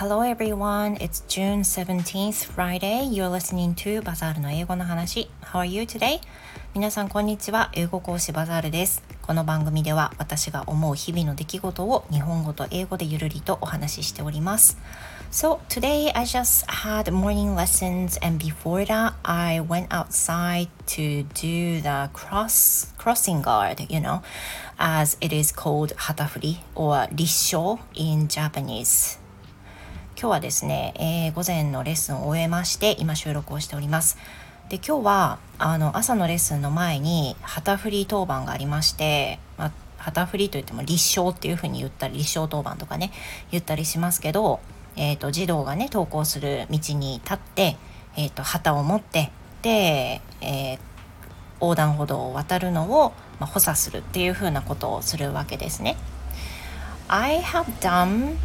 Hello everyone, it's June 17th, Friday. You're listening to バザールの英語の話。How are you today? 皆さんこんにちは。英語講師バザールです。この番組では私が思う日々の出来事を日本語と英語でゆるりとお話ししております。So today I just had morning lessons and before that I went outside to do the crossing guard, as it is called 旗振り or 立正 in Japanese。今日はですね、午前のレッスンを終えまして今収録をしております。で今日は朝のレッスンの前に旗振り当番がありまして、旗振りといっても立正っていう風に言ったり立正当番とかね言ったりしますけど、児童がね登校する道に立って、旗を持ってで、横断歩道を渡るのを、補佐するっていう風なことをするわけですね。I have done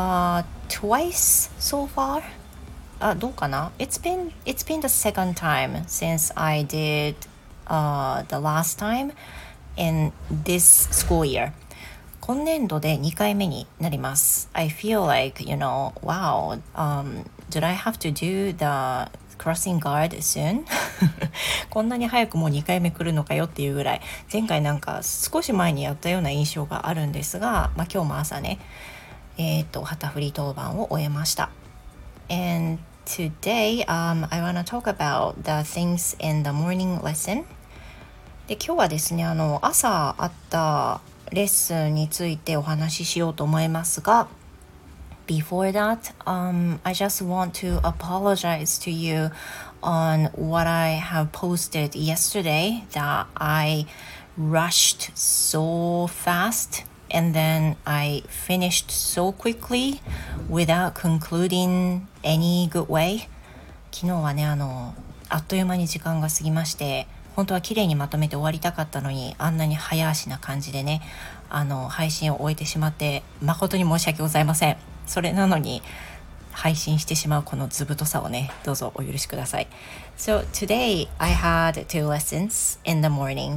twice so far. どうかな It's been the second time since I did the last time in this school year. 今年度で2回目になります。I feel like, wow, did I have to do the crossing guard soon? こんなに早くもう2回目来るのかよっていうぐらい前回なんか少し前にやったような印象があるんですが、今日も朝ね旗振り当番を終えました。 And today, I want to talk about the things in the morning lesson. で今日はですね朝あったレッスンについてお話ししようと思いますが、Before that, I just want to apologize to you on what I have posted yesterday that I rushed so fast and then I finished so quickly without concluding any good way. 昨日はねあっという間に時間が過ぎまして、本当は綺麗にまとめて終わりたかったのにあんなに早足な感じでね配信を終えてしまって誠に申し訳ございません。それなのに配信してしまうこの図太さをねどうぞお許しください。 So today I had two lessons in the morning,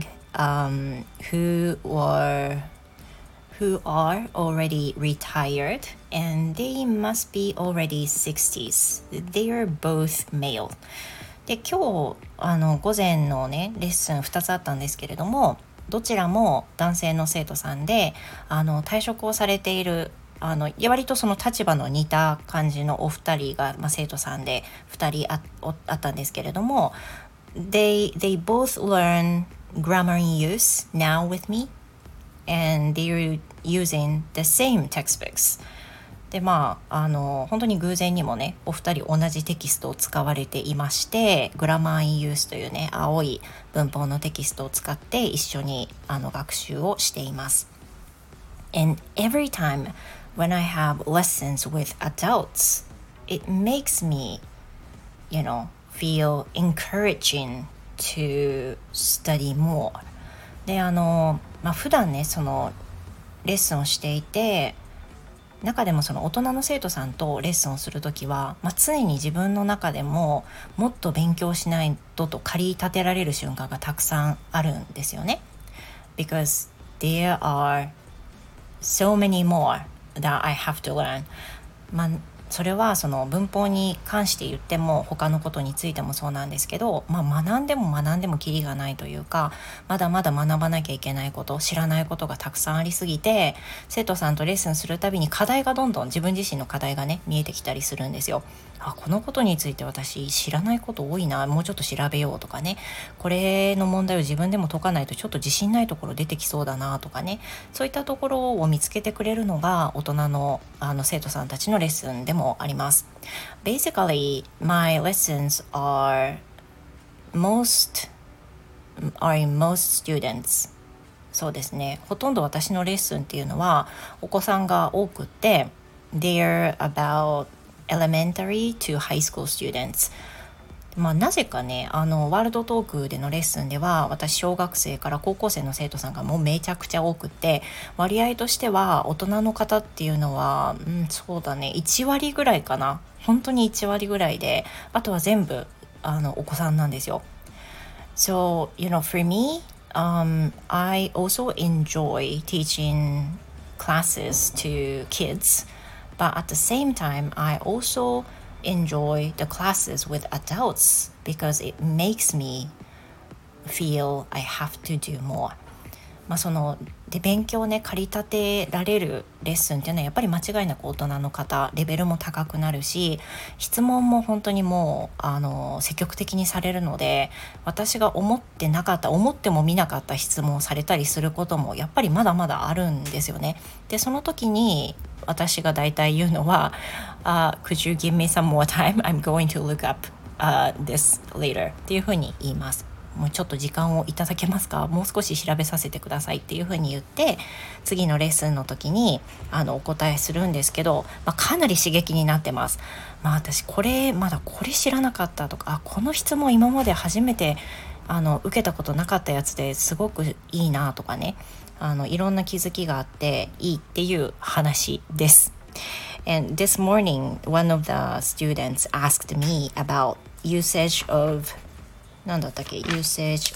who are already retired and they must be already 60s. They are both male. で今日午前のねレッスン2つあったんですけれども、どちらも男性の生徒さんで退職をされている割とその立場の似た感じのお二人が、生徒さんで2人 あったんですけれども、 they both learn grammar in use now with me and they're using the same textbooks. で本当に偶然にもねお二人同じテキストを使われていまして、グラマーインユースというね青い文法のテキストを使って一緒に学習をしています。 And every time when I have lessons with adults, it makes me, feel encouraging to study more. で普段ねそのレッスンをしていて、中でもその大人の生徒さんとレッスンをするときは、常に自分の中でももっと勉強しないとと駆り立てられる瞬間がたくさんあるんですよね。 Because there are so many more that I have to learn. それはその文法に関して言っても他のことについてもそうなんですけど、学んでもキリがないというか、まだまだ学ばなきゃいけないこと、知らないことがたくさんありすぎて、生徒さんとレッスンするたびに課題がどんどん自分自身の課題がね見えてきたりするんですよ。このことについて私知らないこと多いな、もうちょっと調べようとかね、これの問題を自分でも解かないとちょっと自信ないところ出てきそうだなとかね、そういったところを見つけてくれるのが大人の生徒さんたちのレッスンでもあります。 Basically, my lessons are in most students. そうですね、ほとんど私のレッスンっていうのはお子さんが多くて They're about elementary to high school students。なぜかねワールドトークでのレッスンでは私小学生から高校生の生徒さんがもうめちゃくちゃ多くて、割合としては大人の方っていうのは、そうだね1割ぐらいかな、本当に1割ぐらいで、あとは全部お子さんなんですよ。 So, for me, I also enjoy teaching classes to kids But at the same time, I also enjoy the classes with adults because it makes me feel I have to do more. そので勉強をね駆り立てられるレッスンっていうのはやっぱり間違いなく大人の方レベルも高くなるし、質問も本当にもう積極的にされるので、私が思っても見なかった質問をされたりすることもやっぱりまだまだあるんですよね。でその時に私が大体言うのは、Could you give me some more time? I'm going to look up、this later っていうふうに言います。もうちょっと時間をいただけますか、もう少し調べさせてくださいっていうふうに言って、次のレッスンの時にお答えするんですけど、かなり刺激になってます。私まだこれ知らなかったとか、この質問今まで初めて受けたことなかったやつですごくいいなとかね、いろんな気づきがあっていいっていう話です。And this morning, one of the students asked me about usage of usage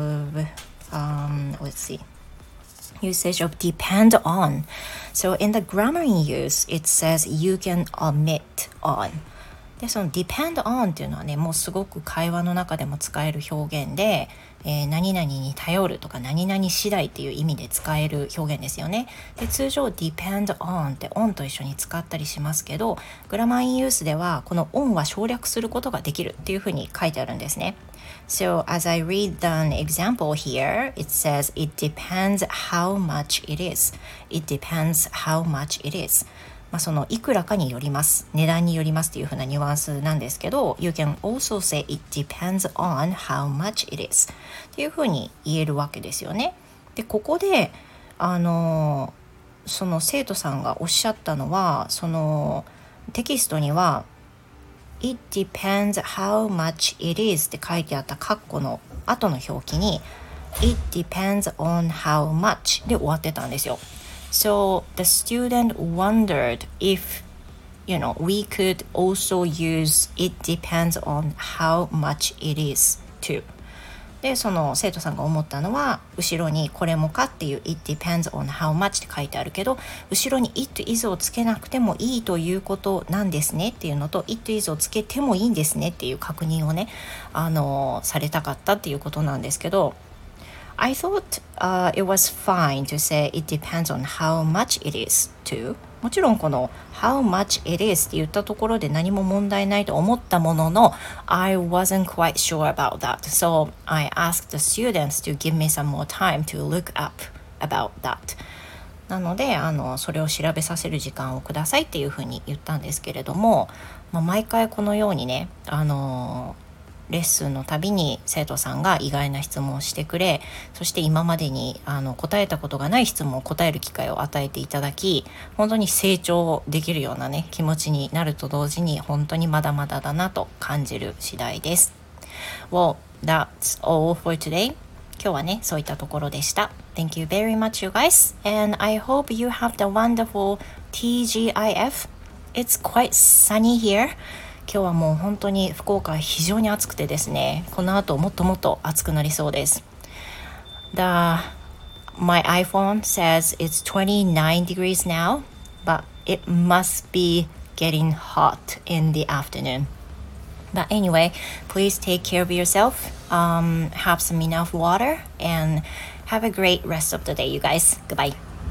of depend on. So in the grammar in use, it says you can omit on. でその depend on っていうのはね、もうすごく会話の中でも使える表現で、何々に頼るとか何々次第っていう意味で使える表現ですよね。で通常 depend on って on と一緒に使ったりしますけど、グラマーインユースではこの on は省略することができるっていうふうに書いてあるんですね。So as I read the example here, it says it depends how much it is. It depends how much it is. そのいくらかによります、値段によりますっていう風なニュアンスなんですけど、 You can also say it depends on how much it is っていう風に言えるわけですよね。でここでその生徒さんがおっしゃったのは、そのテキストには It depends how much it is って書いてあったカッコの後の表記に It depends on how much で終わってたんですよ。So the student wondered if, we could also use it depends on how much it is too. で、その生徒さんが思ったのは、後ろにこれもかっていう it depends on how much って書いてあるけど、後ろに it is をつけなくてもいいということなんですねっていうのと、it is をつけてもいいんですねっていう確認をね、されたかったっていうことなんですけど、I thought、it was fine to say it depends on how much it is too. もちろんこの how much it is って言ったところで何も問題ないと思ったものの I wasn't quite sure about that. So I asked the students to give me some more time to look up about that. なのでそれを調べさせる時間をくださいっていうふうに言ったんですけれども、毎回このようにねレッスンのたびに生徒さんが意外な質問をしてくれ、そして今までに答えたことがない質問を答える機会を与えていただき、本当に成長できるようなね気持ちになると同時に本当にまだまだだなと感じる次第です。Well, that's all for today. 今日はねそういったところでした。Thank you very much, you guys, and I hope you have the wonderful TGIF. It's quite sunny here.今日はもう本当に福岡は非常に暑くてですね、この後もっともっと暑くなりそうです。My iPhone says it's 29 degrees now, but it must be getting hot in the afternoon. But anyway, please take care of yourself, have some enough water, and have a great rest of the day, you guys. Goodbye.